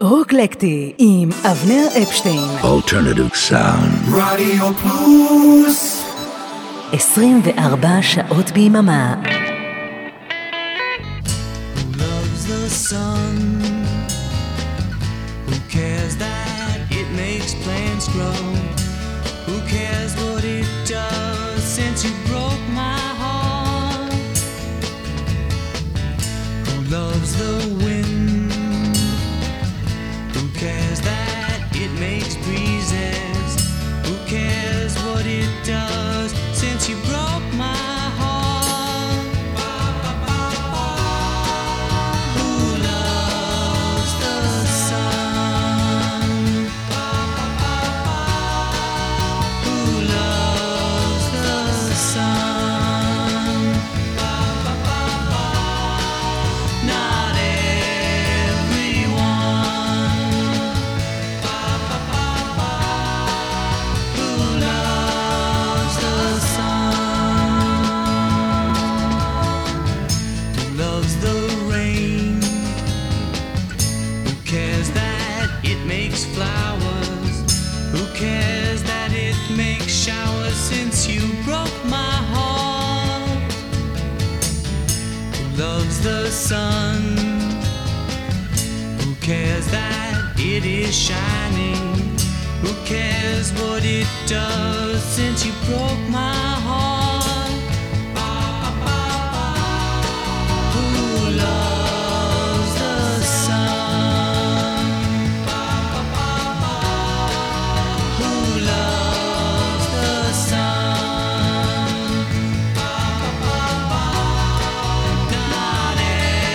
רוקלקטי עם אבנר אפשטיין. Alternative Sound. רדיו פלוס 24 שעות ביממה. Who loves the sun? Who cares that it makes plants grow? Who cares what it does since you broke my heart? Who loves the wind? Who cares that it makes breezes? Who cares what it does since you broke my heart? Who loves the sun? Who loves the sun? Not everyone. Who loves the sun? Who loves the rain? Who cares that it makes flowers? Who cares that it makes showers since you broke my heart? Who loves the sun? Who cares that it is shining? Who cares what it does since you broke my heart? Who loves the sun? Who loves the sun? Not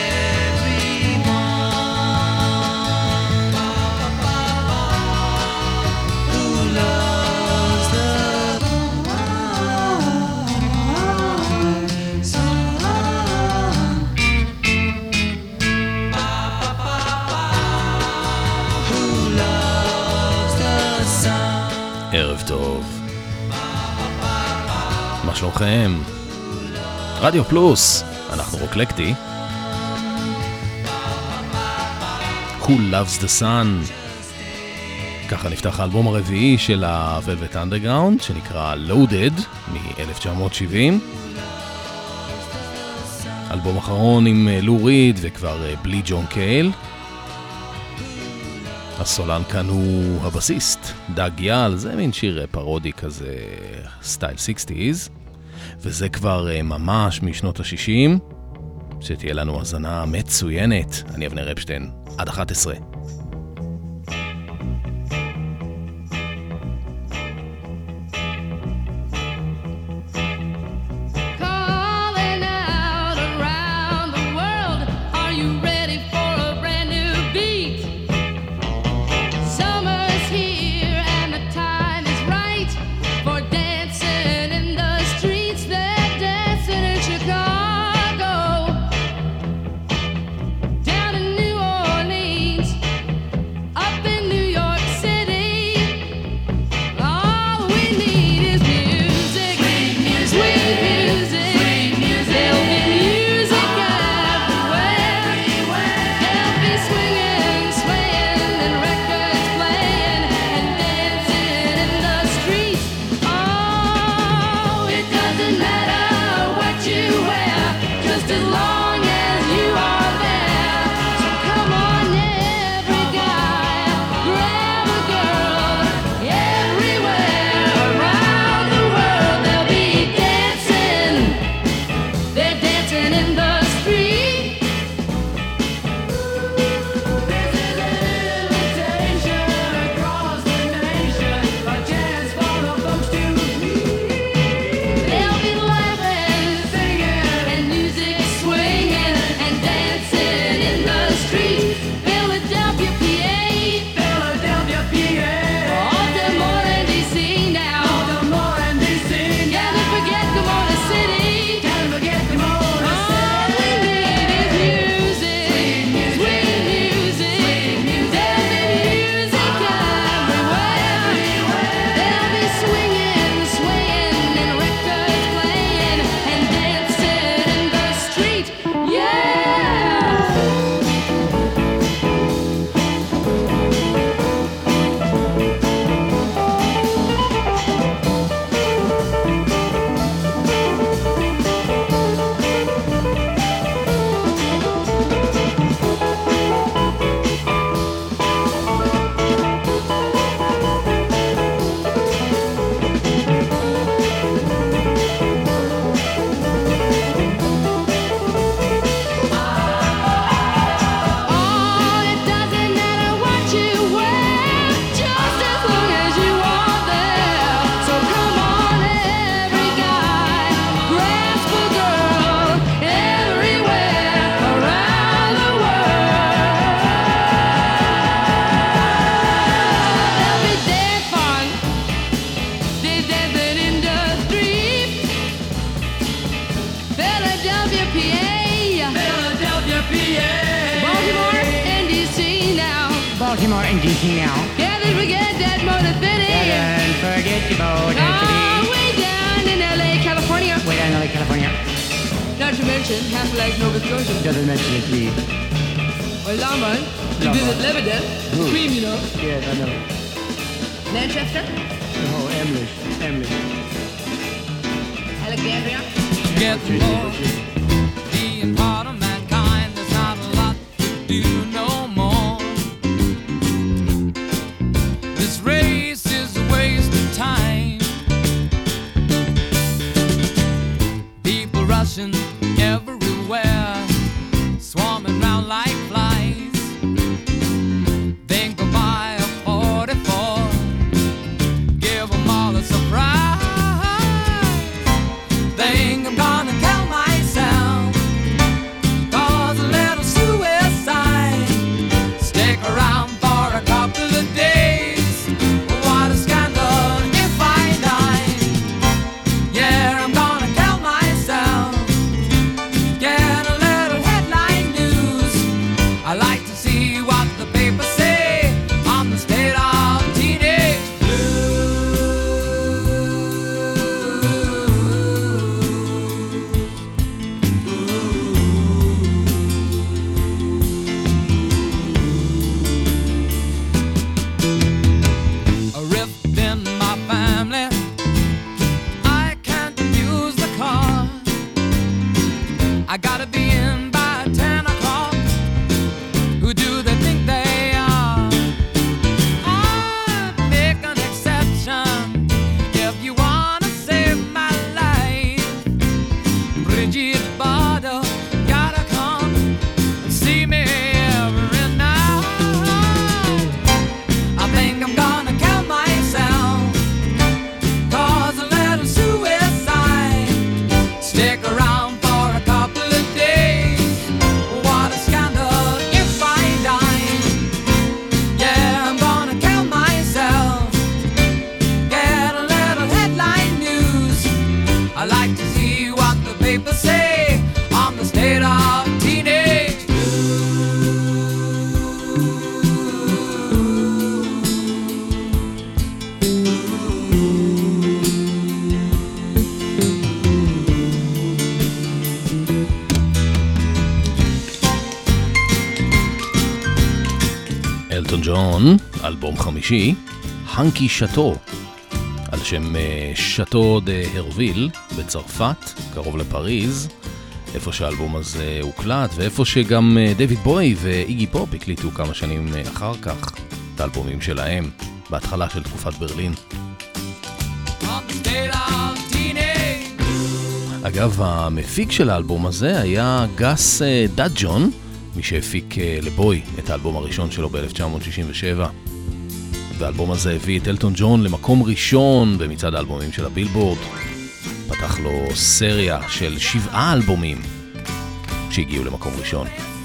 everyone. Who loves the sun? Who loves the sun? ערב טוב. מה שלומכם? רדיו פלוס, אנחנו רוקלקטי. Who loves the sun? ככה נפתח האלבום הרביעי של ה-Velvet Underground, שנקרא Loaded, מ-1970. אלבום אחרון עם לו ריד וכבר בלי ג'ון קייל. הסולן כאן הוא הבסיסט, דאג יאל, זה מין שיר פרודי כזה, סטייל 60s, וזה כבר ממש משנות ה-60, שתהיה לנו הזנה מצוינת. אני אבנר אפשטיין, עד 11. Calling out around the world, are you ready for a brand new beat? Summer's here and the time is right for dancing in the streets. They're dancing in Chicago, down in New Orleans, Baltimore and DC now. Can't forget that Motor City. Don't forget your Motor City. Way down in LA, California. Way down in LA, California. Not to mention Half Life Nova Scotia. Doesn't mention it, please. Or Longmont. To visit Lebanon. Cream, you know. Yes, I know. Manchester. Oh, Emily. Alexandria. Get more. Being part of mankind, there's not a lot to do no more. This race is a waste of time. People rushing everywhere, swarming round like flies. Think I'll buy a 44, give them all a surprise. Think I'm gonna kill myself, cause a little suicide. Stick around for a couple of days, what a scandal if I die. Yeah, I'm gonna kill myself, get a little headline news. I like to see what the papers say on the state of teenage a rift in my family, I can't use the car. I gotta be in by 10 o'clock. Who do they think they are? I make an exception if you wanna save my life. Bridget Bardot gotta come and see me every night. I think I'm gonna kill myself, cause a little suicide. Stick around for a couple of days, what a scandal if I die. Yeah, I'm gonna kill myself, get a little headline news. I like to see what the papers say on the state of teenage. אלטון ג'ון, אלבום חמישי, הנקי שטו, על שם שטו דה הרוויל בצרפת, קרוב לפריז, איפה שהאלבום הזה הוקלט, ואיפה שגם דויד בוי ואיגי פופ הקליטו כמה שנים אחר כך את האלבומים שלהם, בהתחלה של תקופת ברלין. On the state of teenage. אגב, המפיק של האלבום הזה היה גס דאג'ון, מי שהפיק לבוי את האלבום הראשון שלו ב-1967. והאלבום הזה הביא את אלטון ג'ון למקום ראשון במצעד האלבומים של הבילבורד. פתח לו סריה של 7 אלבומים שהגיעו למקום ראשון.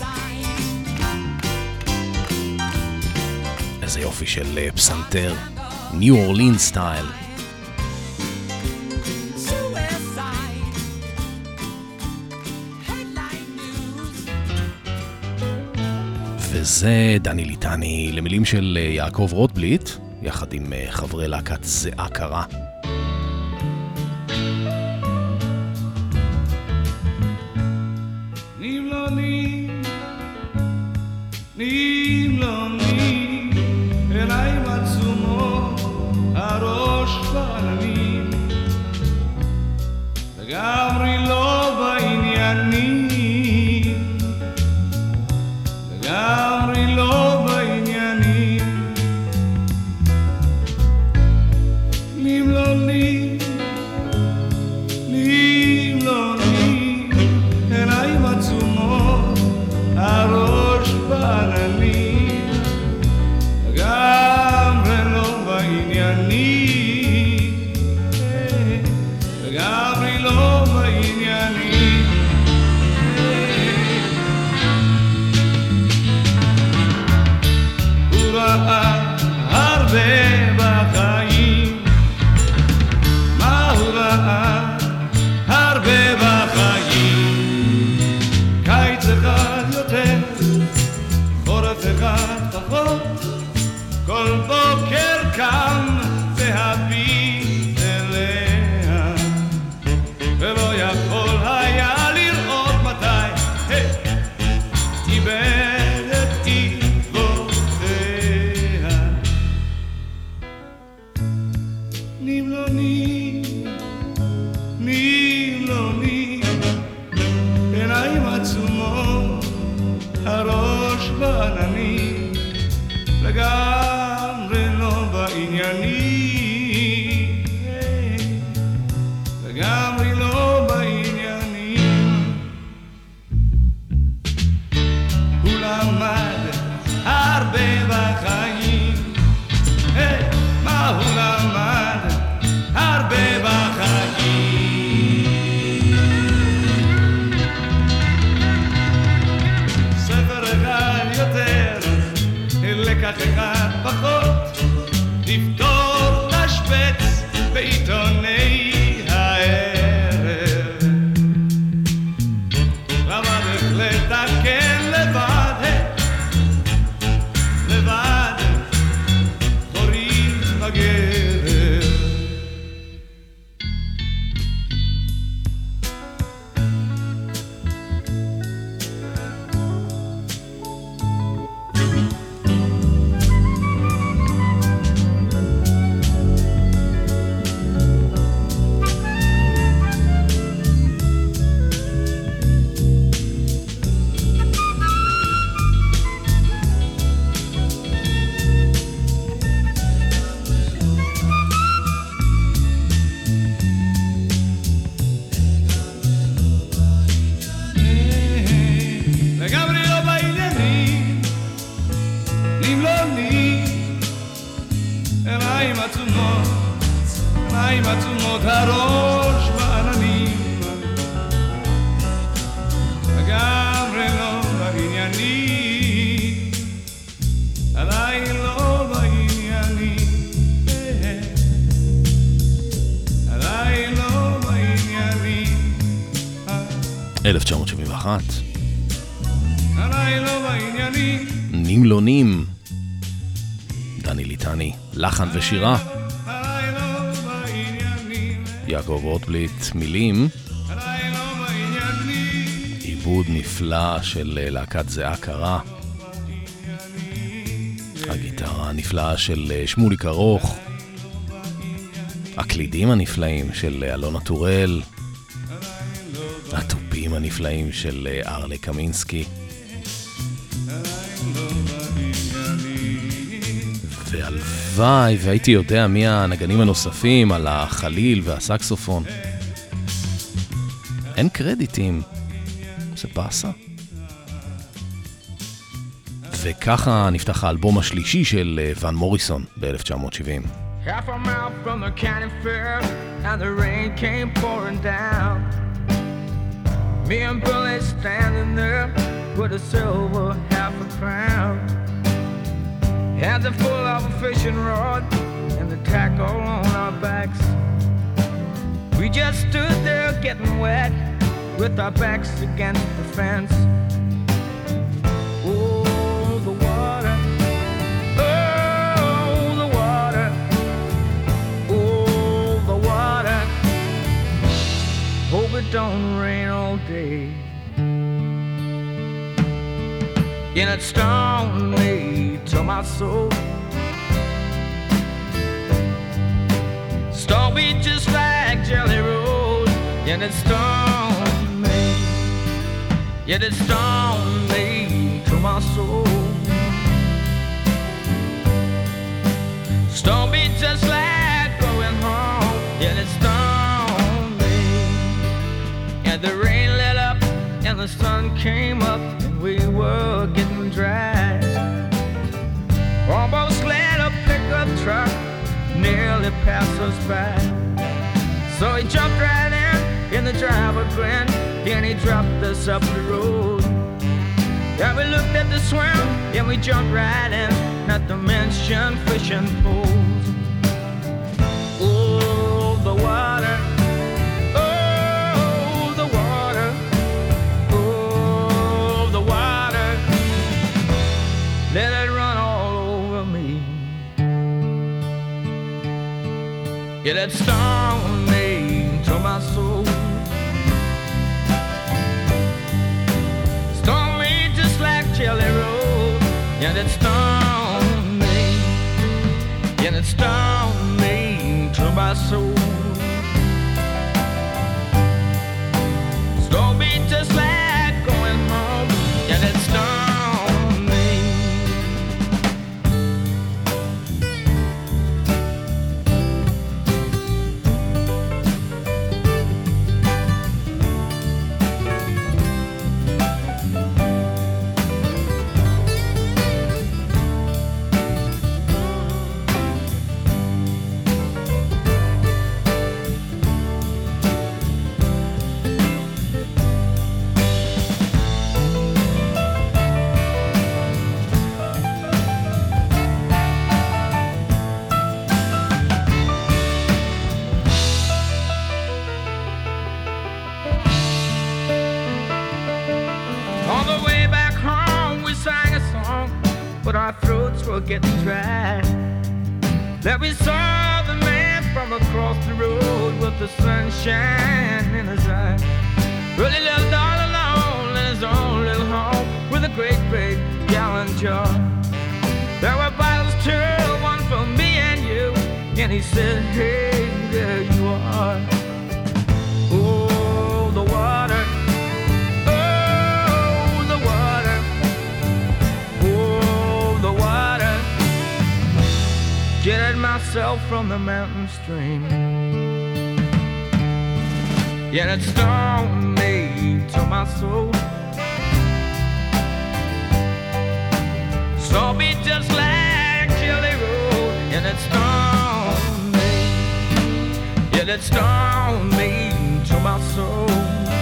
איזה יופי של פסנתר, ניו אורלין סטייל. וזה דני ליטני למילים של יעקב רוטבליט, יחד עם חברי להקת זיעה קרה. נמלוני אליי מצומו הראש בעננים לגמרי לא בעניינים לגמרי לא בעניינים נמלוני אליי מצומו הראש בעננים לגמרי לא בעניינים לגמרי לא בעניינים הוא ראה הרבה בחיים מה הוא ראה הרבה בחיים קיץ אחד יותר חורף אחד פחות כל בוקר קם והביט אליה ולא יכול היה לראות מתי איבד את עקבותיה. נמלוני, נמלוני, עיניים עצומות, הראש בעננים, לגמרי לא בעניינים, לגמרי לא בעניינים. הוא למד הרבה בחיים, מה הוא למד הרבה בחיים. ספר אחד יותר, לקח אחד פחות, לפתור תשבץ בעיתוני הערב. למד איך לתקן לבד, לבד, חורים בגרב. לגמרי לא בעניינים, נמלוני, עיניים עצומות, עיניים עצומות, הראש בעננים, לגמרי לא בעניינים, עדיין לא בעניינים, עדיין לא בעניינים. 1971. עדיין לא בעניינים, נמלונים. דני ליטני, לחן ושירה. עדיין לא בעניינים, יעקב רוטבליט, מילים. עדיין לא בעניינים. עיבוד נפלא של להקת זהה קרה. הגיטרה הנפלאה של שמוליק ארוך. הקלידים הנפלאים של אלונה טורל. הטופים הנפלאים של ארלה קמינסקי. והלוואי והייתי יודע מי הנגנים הנוספים על החליל והסקסופון. אין קרדיטים, זה פסה. וככה נפתח האלבום השלישי של ון מוריסון ב-1970. Half a mile from the county fair, and the rain came pouring down. Me and Billy standing there with a silver half a crown. Hands are full of a fishing rod and the tackle on our backs. We just stood there getting wet with our backs against the fence. Oh, the water. Oh, the water. Oh, the water. Hope it don't rain all day. And it stung me to my soul. Stung me just like Jelly Roll. And it stung me. Yet it stung me to my soul. Stung me just like going home. Yet it stung me. And the rain lit up and the sun came up. We were getting dry. Almost let a pickup truck nearly pass us by. So he jumped right in the driver grinned, and he dropped us up the road. Yeah, we looked at the swim, and we jumped right in, not to mention fishing poles. Oh, the water. Let it run all over me. Yeah, that stoned me to my soul. Stoned me just like Jelly Roll. Yeah, that stoned me. Yeah, that stoned me to my soul. Stoned me just like going home. Yeah, that stoned me. On the way back home, we sang a song, but our throats were getting dry. That we saw the man from across the road with the sunshine in his eye. Really lived all alone in his own little home with a great big gallon jar. There were bottles too, one for me and you. And he said, hey, there you are. Oh, the water. Jetted myself from the mountain stream. Yeah, it stoned me to my soul. Stoned me just like Jelly Roll. And it stoned me. Yeah, it stoned me to my soul.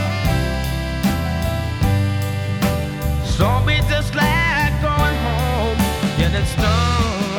Stoned me just like going home. Yeah, it stoned.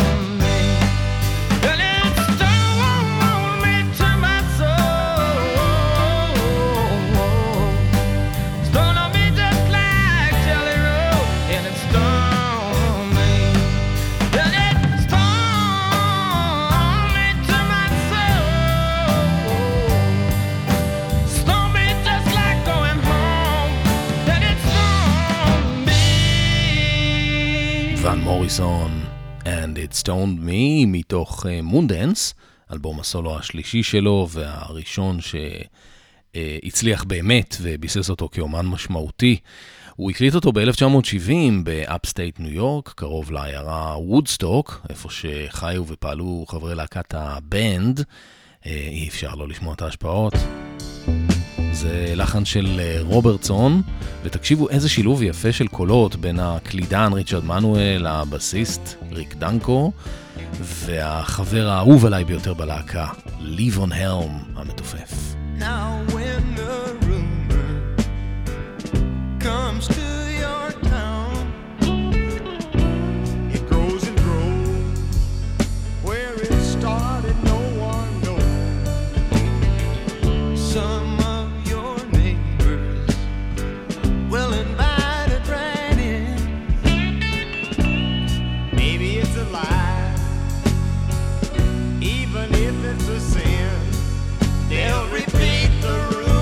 ון מוריסון and it stoned me מתוך מונדנס, אלבום הסולו השלישי שלו והראשון שהצליח באמת וביסס אותו כאומן משמעותי. הוא הקליט אותו ב-1970 באפסטייט ניו יורק, קרוב לעיירה וודסטוק, איפה שחיו ופעלו חברי להקת הבנד. אי אפשר לא לשמוע את ההשפעות. זה לחן של רוברטסון, ותקשיבו איזה שילוב יפה של קולות בין הקלידן ריצ'רד מנואל, הבסיסט ריק דנקו, והחבר האהוב עליי ביותר בלהקה, ליבון הלם המתופף. Now when the rumor comes to your town, it grows and grows. Where it started, no one knows. Some of your neighbors will invite a friend in. Maybe it's a lie, even if it's a sin. They'll repeat the rule.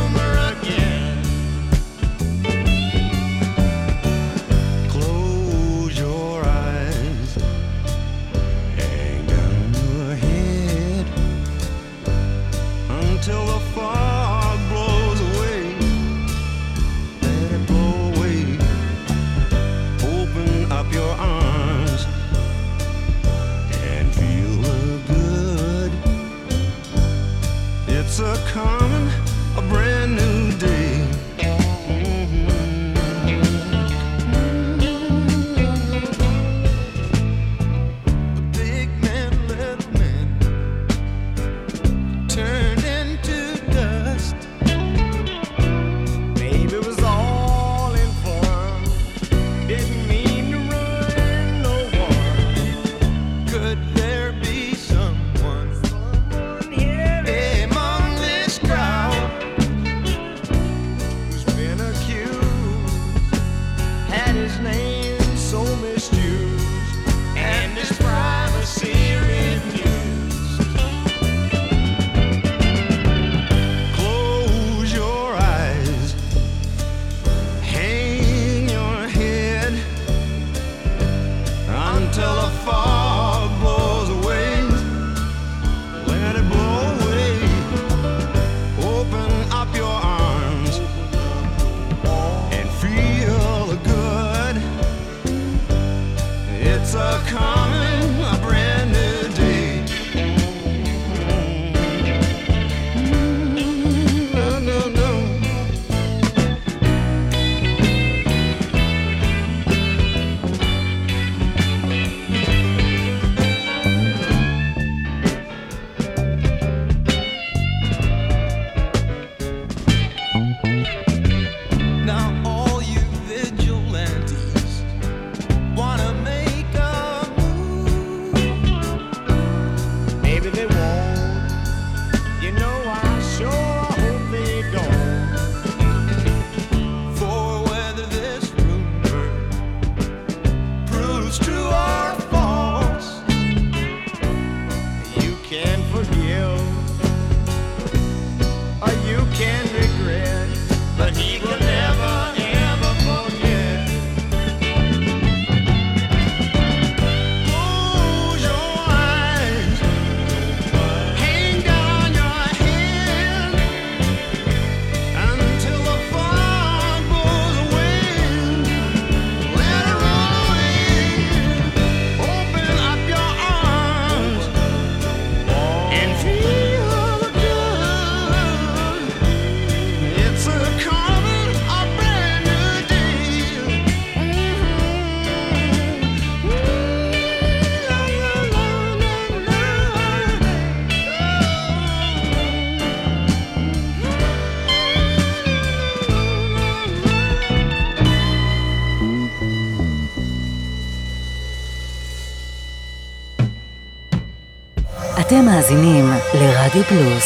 אתם מאזינים לרדיו פלוס.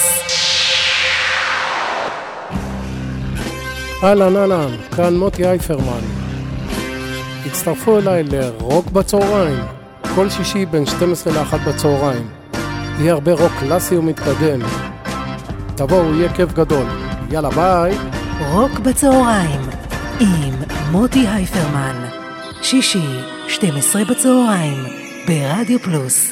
אהלן, כאן מוטי אייפרמן. הצטרפו אליי לרוק בצהריים, כל שישי בין 12 ל-1 בצהריים. יהיה הרבה רוק קלאסי ומתקדם. תבואו, יהיה כיף גדול. יאללה, ביי. רוק בצהריים עם מוטי אייפרמן. שישי, 12 בצהריים, ברדיו פלוס.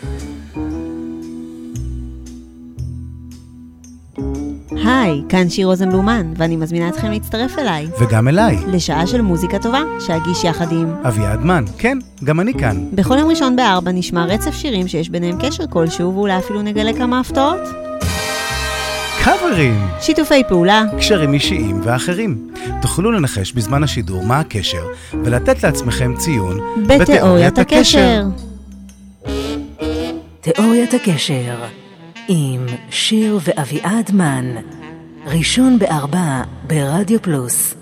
היי, כאן שיר רוזנבלומן, ואני מזמינה אתכם להצטרף אליי. וגם אליי. לשעה של מוזיקה טובה, שאגיש יחד עם אביעד מן. כן, גם אני כאן. בכל יום ראשון ב-4 נשמע רצף שירים שיש ביניהם קשר כלשהו, ואולי אפילו נגלה כמה הפתעות. קאברים. שיתופי פעולה. קשרים אישיים ואחרים. תוכלו לנחש בזמן השידור מה הקשר, ולתת לעצמכם ציון בתיאוריית הקשר. תיאוריית הקשר עם שיר ואביעד מן, ראשון ב-4 ברדיו פלוס.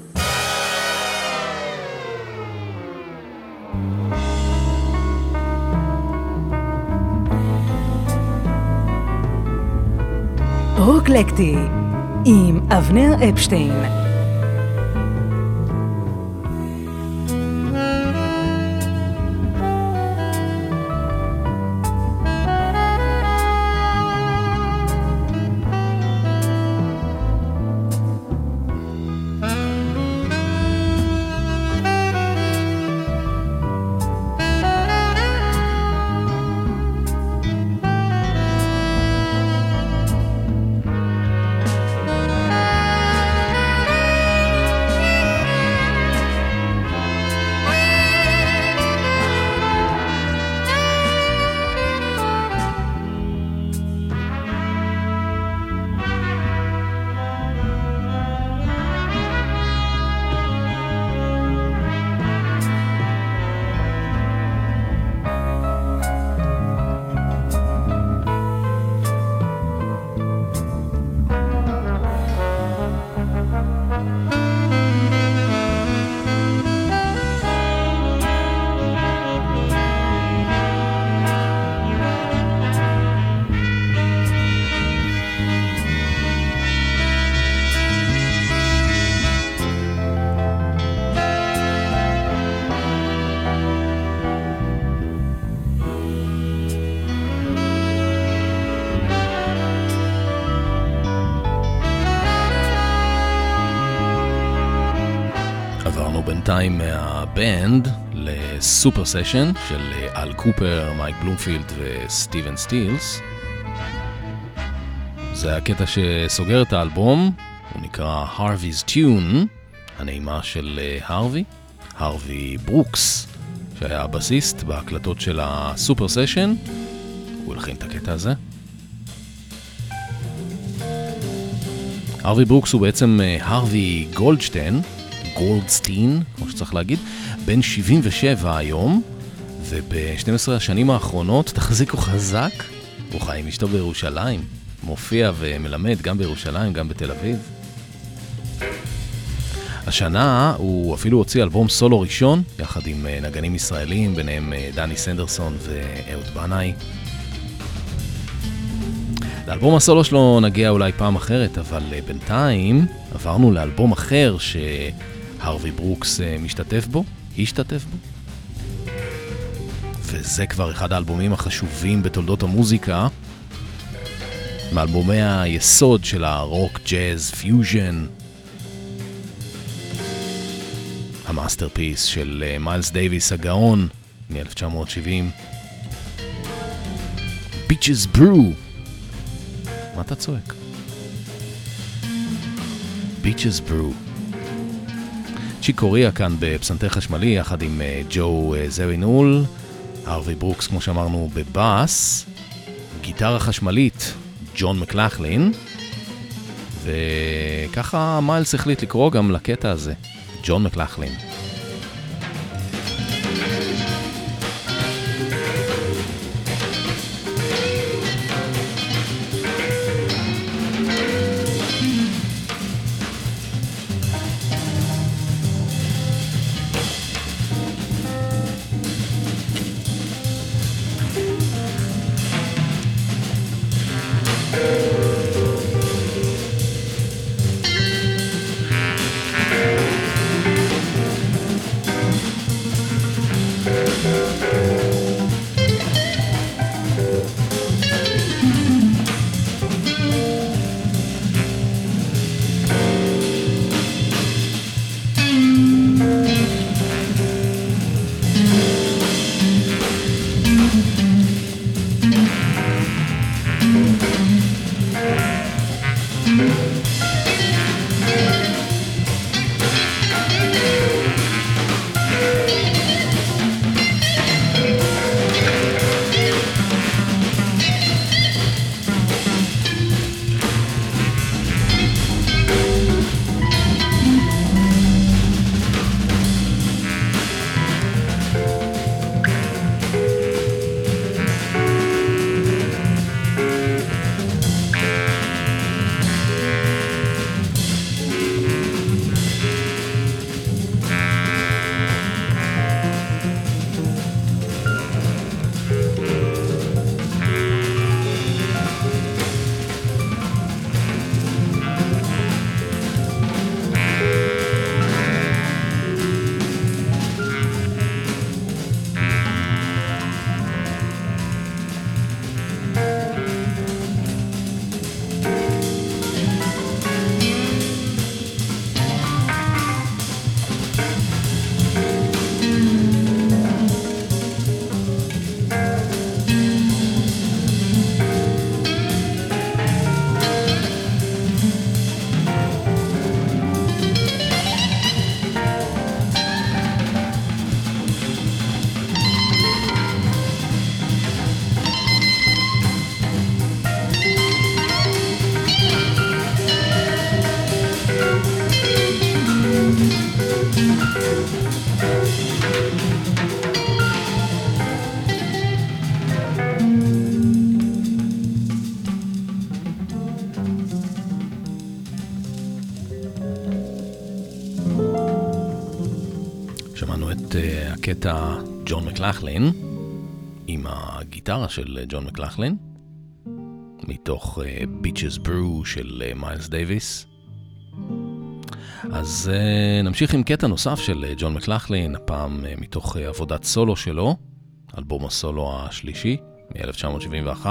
רוקלקטי עם אבנר אפשטיין. בינתיים מהבנד לסופר סשן של אל קופר, מייק בלומפילד וסטיבן סטילס. זה הקטע שסוגר את האלבום, הוא נקרא Harvey's Tune, הנעימה של הרווי ברוקס, שהיה הבסיסט בהקלטות של הסופר סשן. הוא הלחין את הקטע הזה. הרווי ברוקס הוא בעצם הרווי גולדסטיין, כמו שצריך להגיד, בן 77 היום, וב-12 השנים האחרונות, תחזיקו חזק, הוא חי עם אשתו בירושלים, מופיע ומלמד גם בירושלים, גם בתל אביב. השנה הוא אפילו הוציא אלבום סולו ראשון, יחד עם נגנים ישראלים, ביניהם דני סנדרסון ואהוד בנאי. לאלבום הסולו שלו נגיע אולי פעם אחרת, אבל בינתיים עברנו לאלבום אחר שהרווי ברוקס השתתף בו, וזה כבר אחד האלבומים החשובים בתולדות המוזיקה, מאלבומי היסוד של הרוק, ג'אז, פיוז'ן, המאסטרפיס של מיילס דייוויס הגאון מ-1970, Bitches Brew. מה אתה צועק? Bitches Brew. צ'יק קוריה כאן בפסנתר חשמלי יחד עם ג'ו זרינול, הרווי ברוקס כמו שאמרנו בבאס, גיטרה חשמלית ג'ון מקלחלין, וככה מיילס החליט לקרוא גם לקטע הזה, ג'ון מקלחלין. הקטע ג'ון מקלחלין, עם הגיטרה של ג'ון מקלחלין, מתוך Bitches Brew של מיילס דייביס. אז נמשיך עם קטע נוסף של ג'ון מקלחלין, הפעם מתוך עבודת סולו שלו, אלבום הסולו השלישי מ-1971.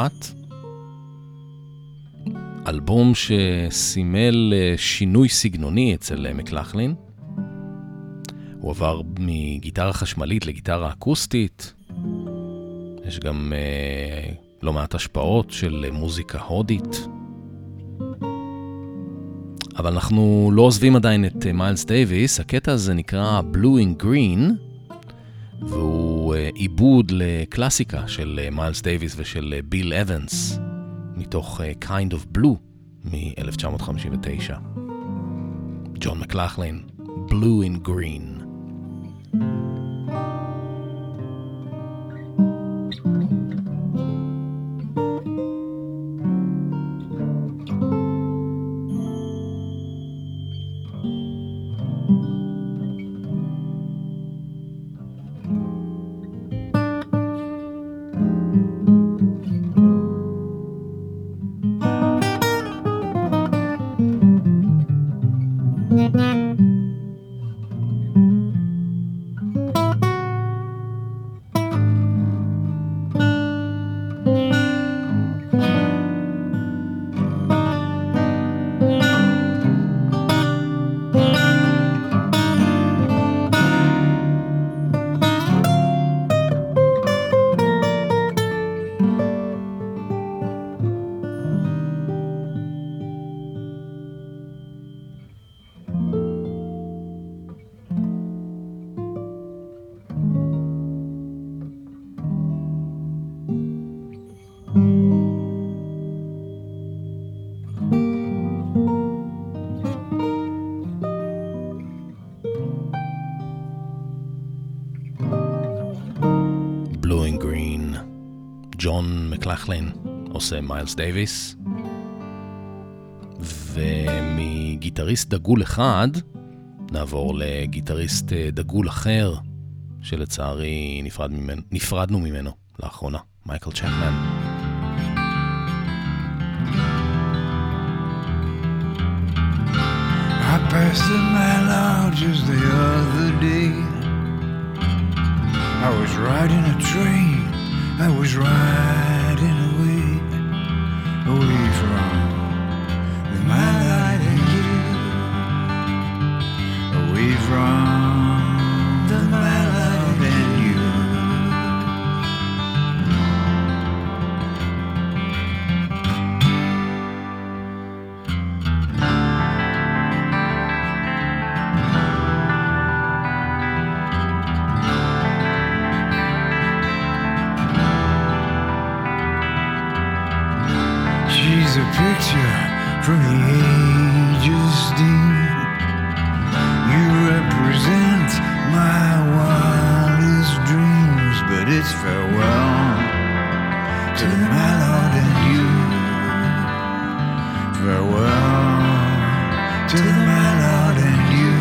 אלבום שסימל שינוי סגנוני אצל מקלחלין. הוא עבר מגיטרה חשמלית לגיטרה אקוסטית. יש גם לא מעט השפעות של מוזיקה הודית. אבל אנחנו לא עוזבים עדיין את מיילס דייביס. הקטע הזה נקרא Blue in Green, והוא עיבוד לקלאסיקה של מיילס דייביס ושל ביל אבנס, מתוך Kind of Blue מ-1959. ג'ון מקלחלין, Blue in Green. ג'ון מקלחלין עושה מיילס דייביס, ומגיטריסט דגול אחד נעבור לגיטריסט דגול אחר שלצערי נפרדנו ממנו לאחרונה, מייקל צ'פמן. I passed the mile just the other day. I was riding a train, I was riding away from the mile and you, away from the mile and you. She's a picture from the ages dim. You represent my wildest dreams, but it's farewell to my Lord and you. Farewell to my Lord and you.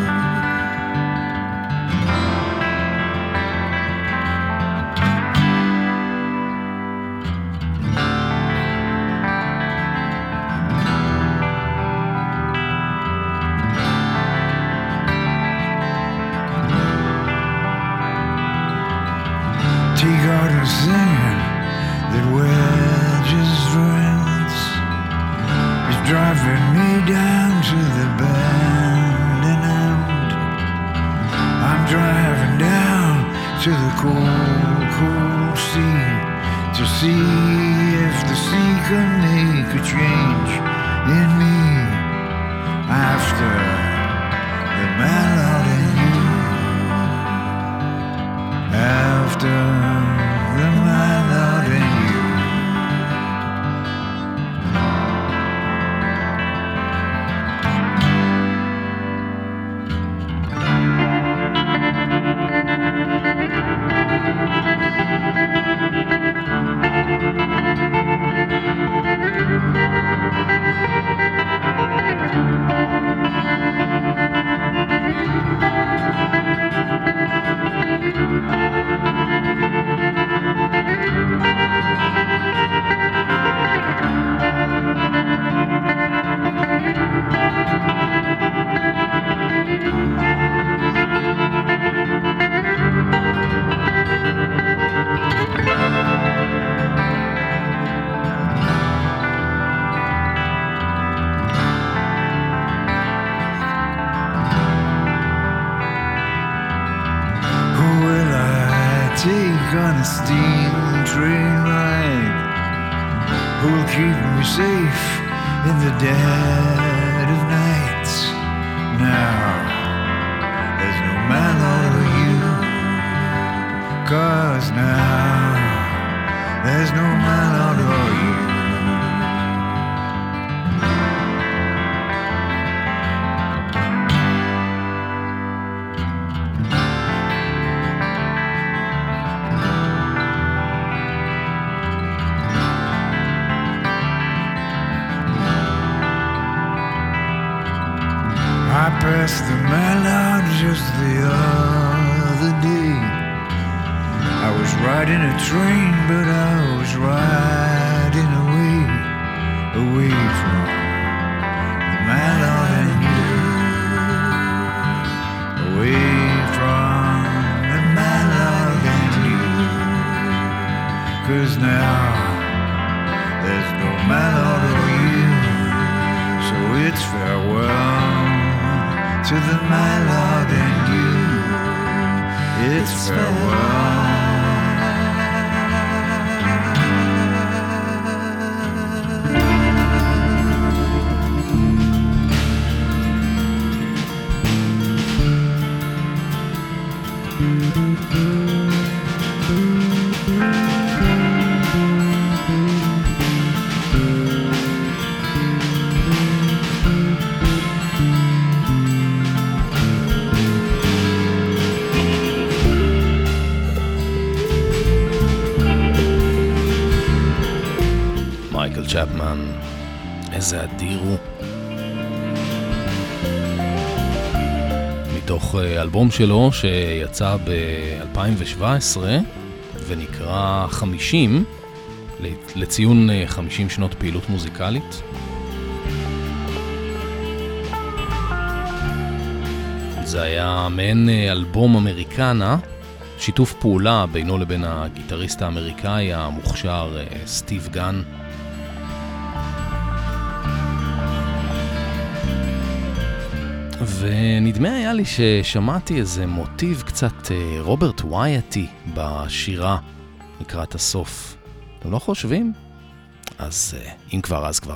Take out a sand that wedges rents. It's driving me down to the bend and end. I'm driving down to the cold, cold sea to see if the sea can make a change in me after the mallet and you. After the mallet and you. train ride. Who'll keep me safe in the dead of nights? Now there's no man over you, 'cause now there's no man over you. I passed the Mallard just the other day. I was riding a train, but I was riding away, away from the Mallard and you, away from the Mallard and you. 'Cause now there's no Mallard or you, so it's farewell to the Mallard and you. It's farewell. מייקל צ'פמן, איזה אדיר הוא. מתוך אלבום שלו שיצא ב-2017 ונקרא 50, לציון 50 שנות פעילות מוזיקלית. זה היה מעין אלבום אמריקנה, שיתוף פעולה בינו לבין הגיטריסט האמריקאי המוכשר סטיב גן. ונדמה היה לי ששמעתי איזה מוטיב קצת רוברט ווייטי בשירה לקראת הסוף. אתם לא חושבים? אז אם כבר, אז כבר.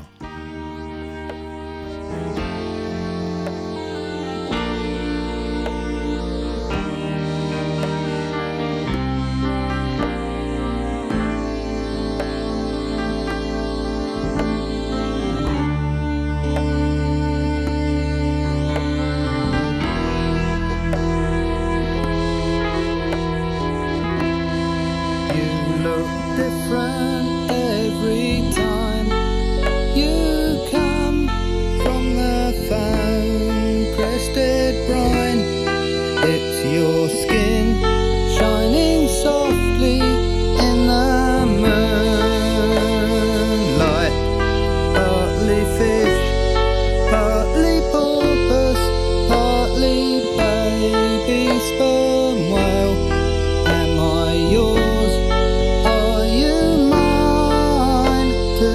To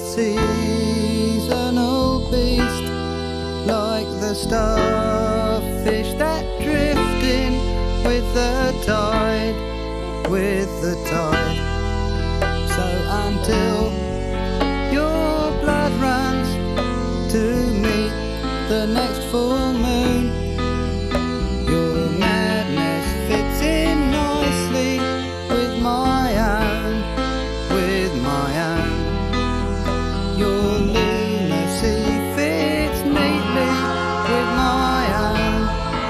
seasonal beast, like the starfish that drift in with the tide, with the tide. So until your blood runs to meet the next full moon, your madness fits in nicely with my own, with my own. Your lunacy fits neatly with my own,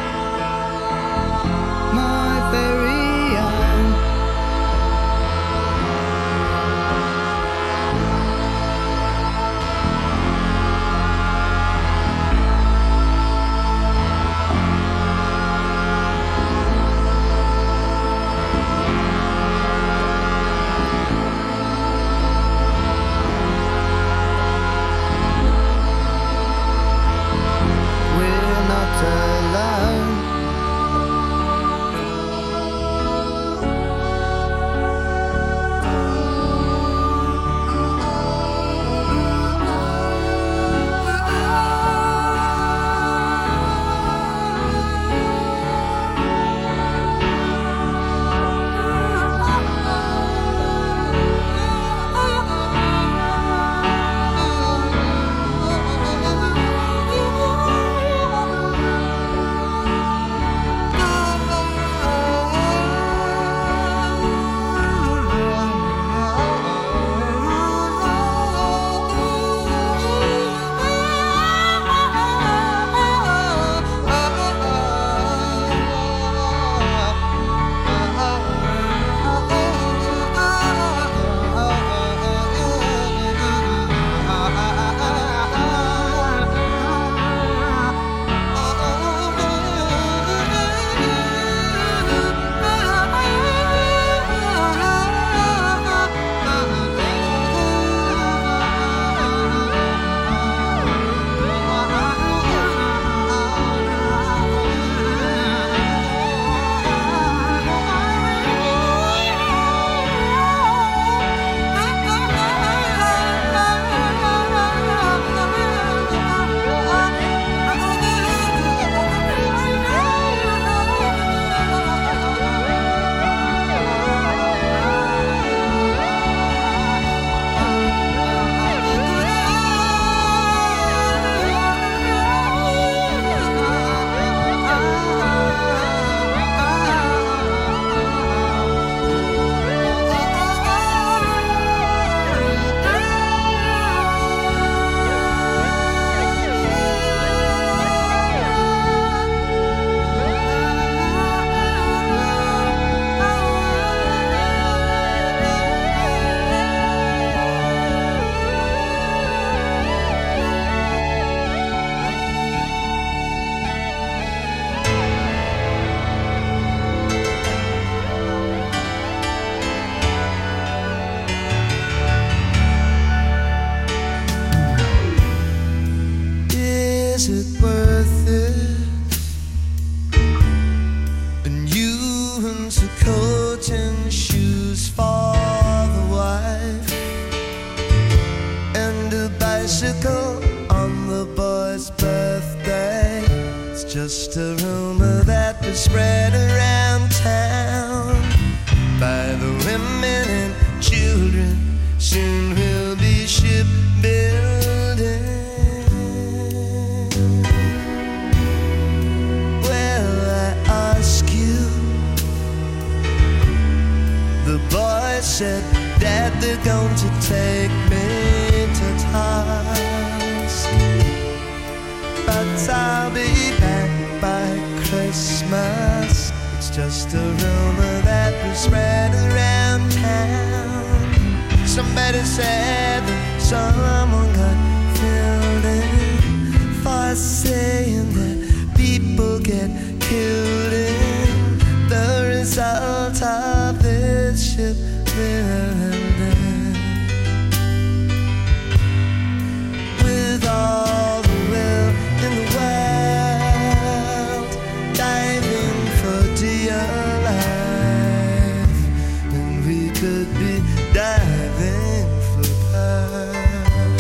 my very own. We're not alone. Is it worth it? And you in some coat and shoes for the wife, and a bicycle on the boy's birthday. It's just a rumor that was spread around town by the women and children. Soon we'll be shipbuilding. Well, I ask you, the boy said that they're going to take me to task, but I'll be back by Christmas. It's just a rumor that was spread around town. Somebody said that someone got killed in for saying that people get killed in the result of this shipbuilding. With all the will in the world, diving for dear life, and we could be diving for pearl.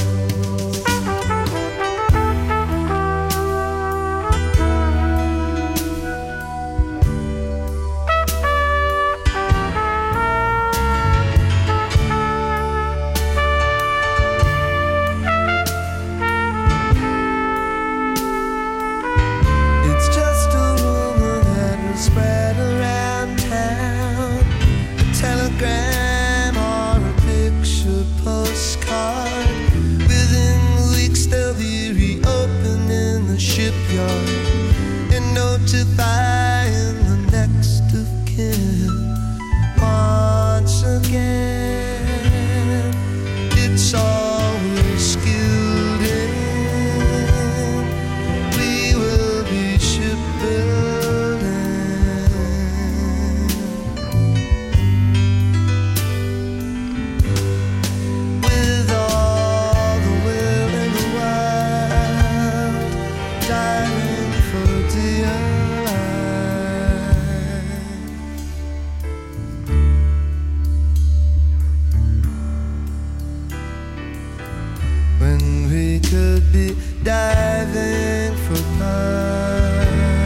be diving for pearls.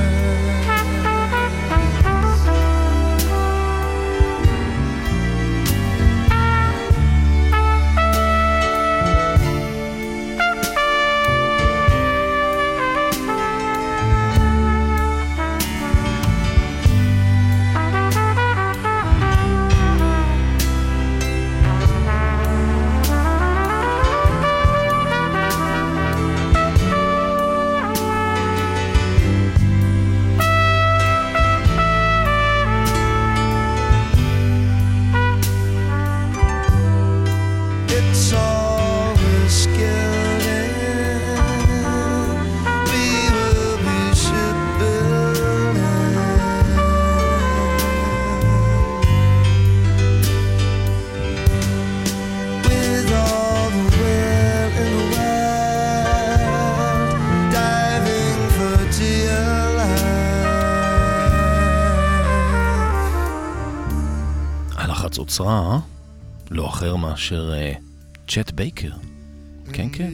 חצוצרה, לא אחר מאשר צ'ט בייקר. כן, כן.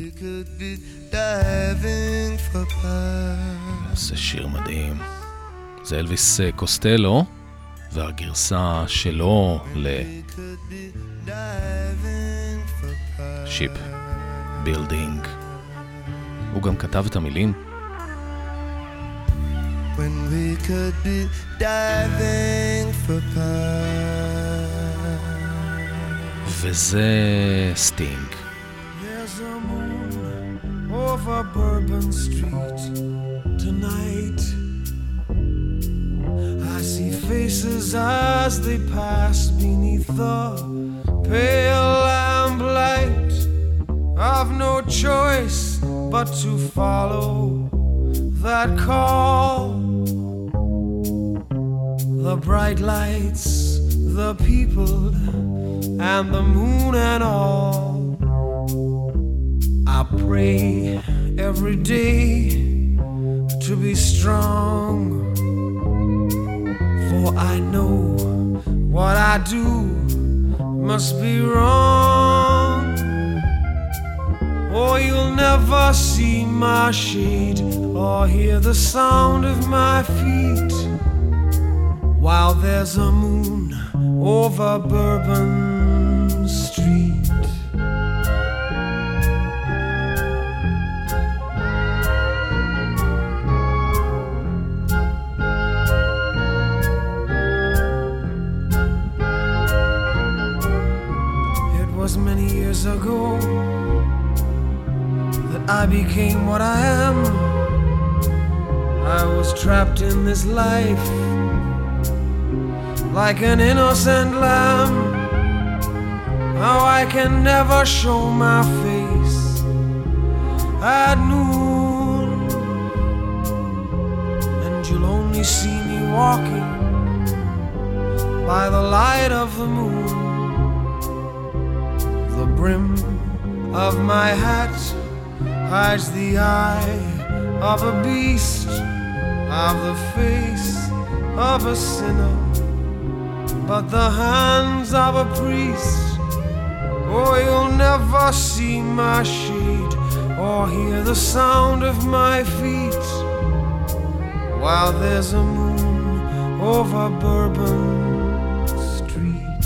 זה שיר מדהים. זה אלוויס קוסטלו, והגרסה שלו לשיפ בילדינג. הוא גם כתב את המילים. When we could be diving for pearls. וזה סטינג. There's a moon over Bourbon Street tonight. I see faces as they pass beneath the pale lamplight. I've no choice but to follow that call. The bright lights, the people, and the moon and all. I pray every day to be strong, for I know what I do must be wrong. Oh, you'll never see my shade or hear the sound of my feet while there's a moon over Bourbon Street. It was many years ago that I became what I am. I was trapped in this life like an innocent lamb. Now I can never show my face at noon, and you'll only see me walking by the light of the moon. The brim of my hat hides the eye of a beast, of the face of a sinner, but the hands of a priest. Oh, you'll never see my shade or hear the sound of my feet while there's a moon over Bourbon Street.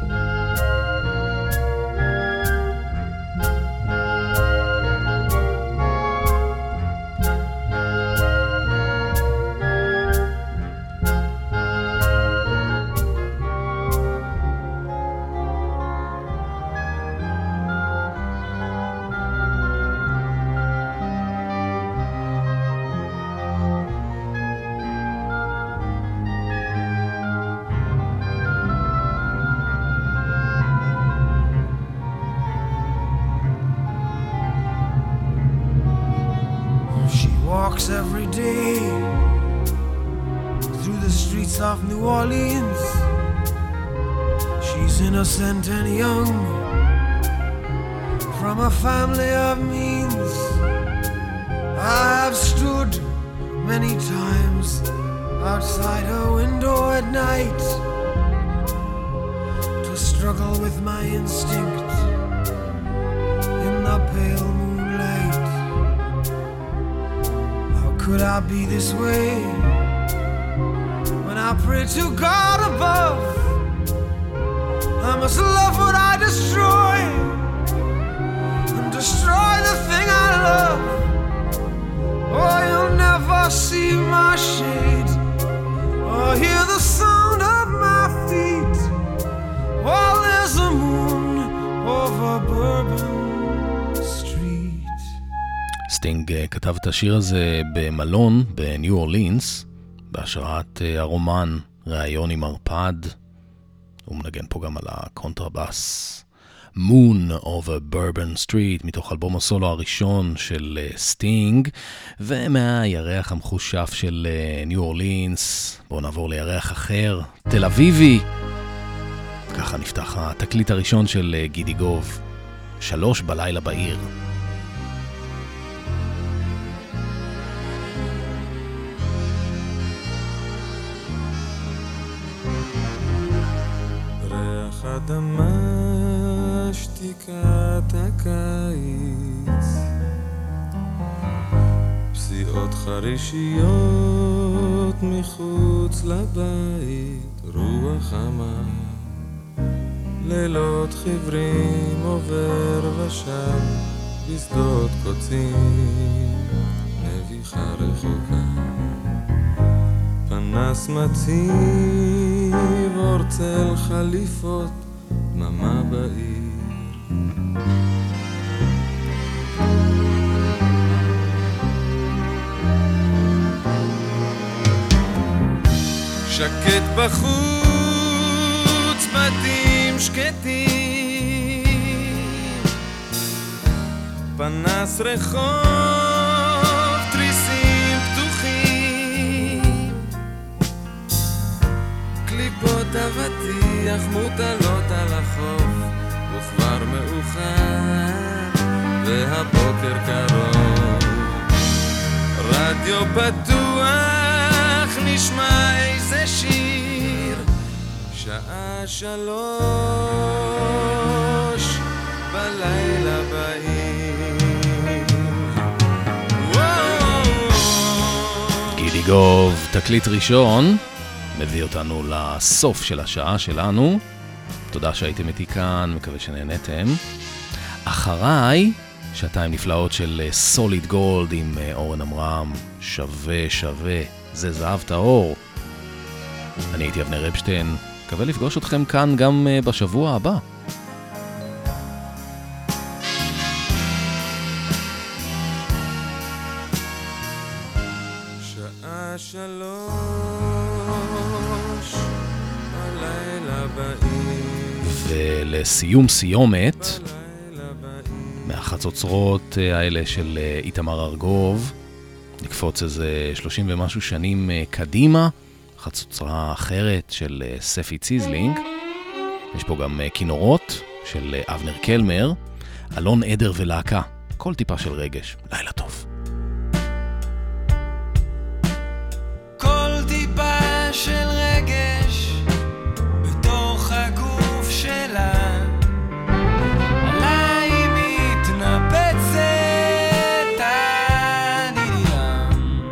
Every day through the streets of New Orleans. She's innocent and young, from a family of means. I've stood many times outside her window at night to struggle with my instinct in the pale moonlight. could I be this way when I pray to God above? I must love what I destroy and destroy the thing I love. Oh, you'll never see my shade or hear the sound of my feet while there's a moon over Bourbon Street. סטינג כתב את השיר הזה במלון בניו אורלינס בהשראת הרומן ראיון עם ערפד. הוא מנגן פה גם על הקונטרבאס. Moon over Bourbon Street מתוך אלבום הסולו הראשון של סטינג, ומהירח המחושף של ניו אורלינס בואו נעבור לירח אחר, תל אביבי. ככה נפתח התקליט הראשון של גידי גוב, 3 בלילה בעיר. ריח אדמה שתיקת הקיץ, פסיעות חרישיות מחוץ לבית, רוח חמה, לילות חיוורים עובר ושב בשדות קוצים, נביחה רחוקה, פנס מציב אור צל חליפות, דממה בעיר. שקט בחוץ, בתים שקטים, פנס רחוב, תריסים פתוחים, קליפות אבטיח מוטלות על החוף, וכבר מאוחר והבוקר קרוב, רדיו פתוח נשמע איזה שיר, שעה 3 בלילה בעיר. גידי גוב, תקליט ראשון, מביא אותנו לסוף של השעה שלנו. תודה שהייתם איתי כאן, מקווה שנהנתם. אחריי, שעתיים נפלאות של סוליד גולד עם אורן אמרם, שווה שווה, זה זהב טהור. אני הייתי אבנר אפשטיין, מקווה לפגוש אתכם כאן גם בשבוע הבא. שעה 3 בלילה בעיר. ולסיום סיומת, מהחצוצרות האלה של איתמר ארגוב, נקפוץ איזה 30 ומשהו שנים קדימה, חצוצרה אחרת של ספי ציזלינג. יש פה גם כינורות של אבנר קלמר, אלון עדר ולהקה, כל טיפה של רגש. לילה טוב. כל טיפה של רגש בתוך הגוף שלה, עליי מתנפצת הנעלם.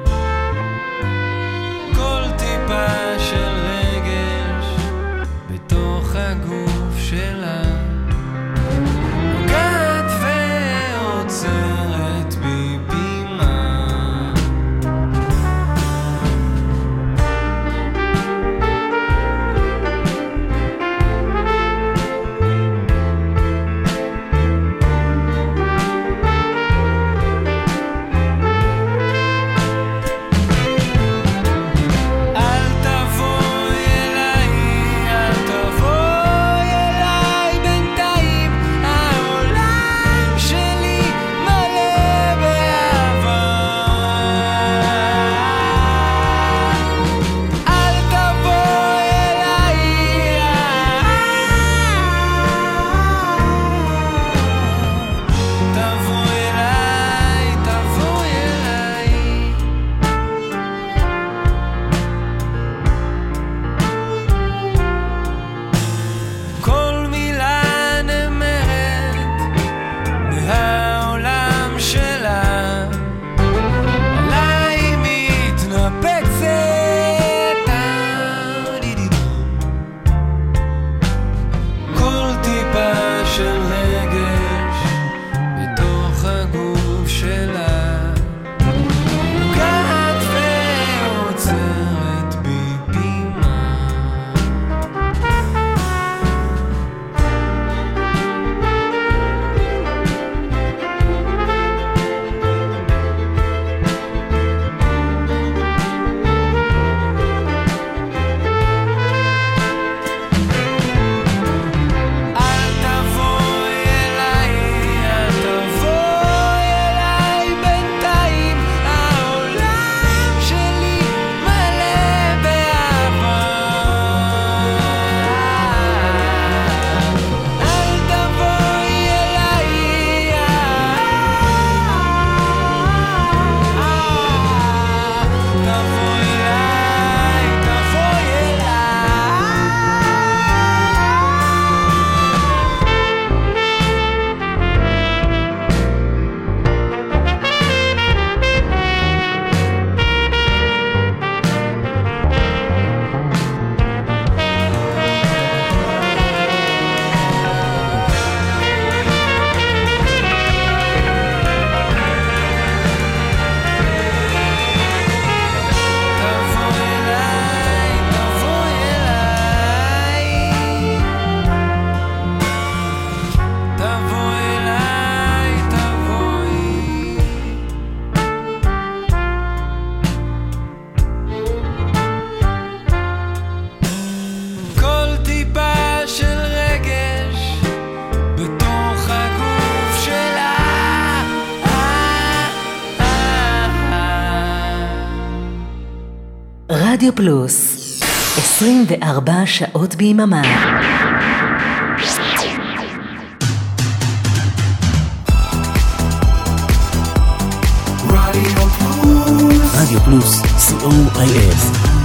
כל טיפה של רגש בתוך הגוף שלה, נוגעת ועוצרת בי רדיו פלוס, 24 שעות ביממה. רדיו פלוס, COIF